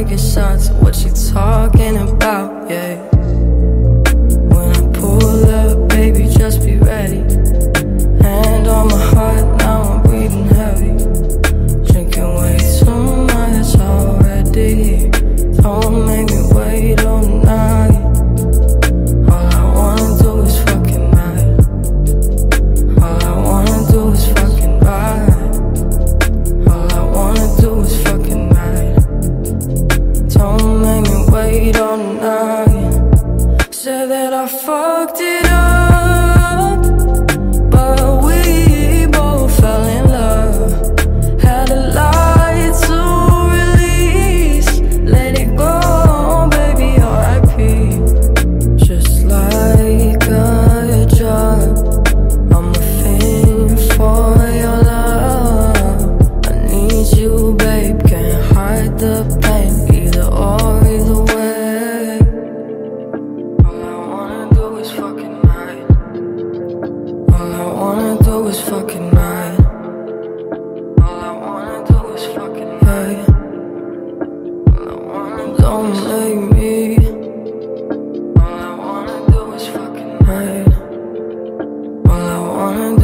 taking shots. What you talking about, yeah. When I pull up, baby, just be ready. Hand on my heart, now I'm breathing heavy. Drinking way too much already. Don't make me wait all night. All I wanna do is fucking ride. All I wanna do is fucking ride. All I wanna do is fucking ride. Don't make me wait all night. Said that I fucked it up, but we both fell in love. Had a lot to release. Let it go, baby, R.I.P. Just like a drug, I'm a fiend for your love. I need you, babe, can't hide the pain. Either or, either way. All I wanna do is fucking ride. All I wanna do is fucking ride. All I wanna do is fucking ride. All I wanna don't make me. All I wanna do is fucking ride. All I wanna do